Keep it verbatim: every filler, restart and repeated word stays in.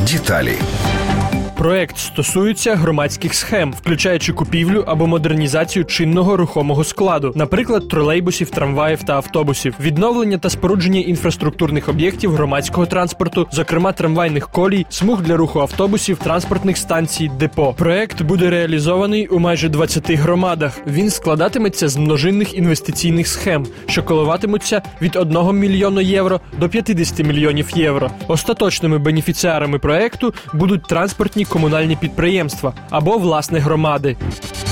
Деталі. Проект стосується громадських схем, включаючи купівлю або модернізацію чинного рухомого складу, наприклад, тролейбусів, трамваїв та автобусів, відновлення та спорудження інфраструктурних об'єктів громадського транспорту, зокрема трамвайних колій, смуг для руху автобусів, транспортних станцій, депо. Проект буде реалізований у майже двадцяти громадах. Він складатиметься з множинних інвестиційних схем, що коливатимуться від одного мільйона євро до п'ятдесят мільйонів євро. Остаточними бенефіціарами проекту будуть транспортні комунальні підприємства або власне громади.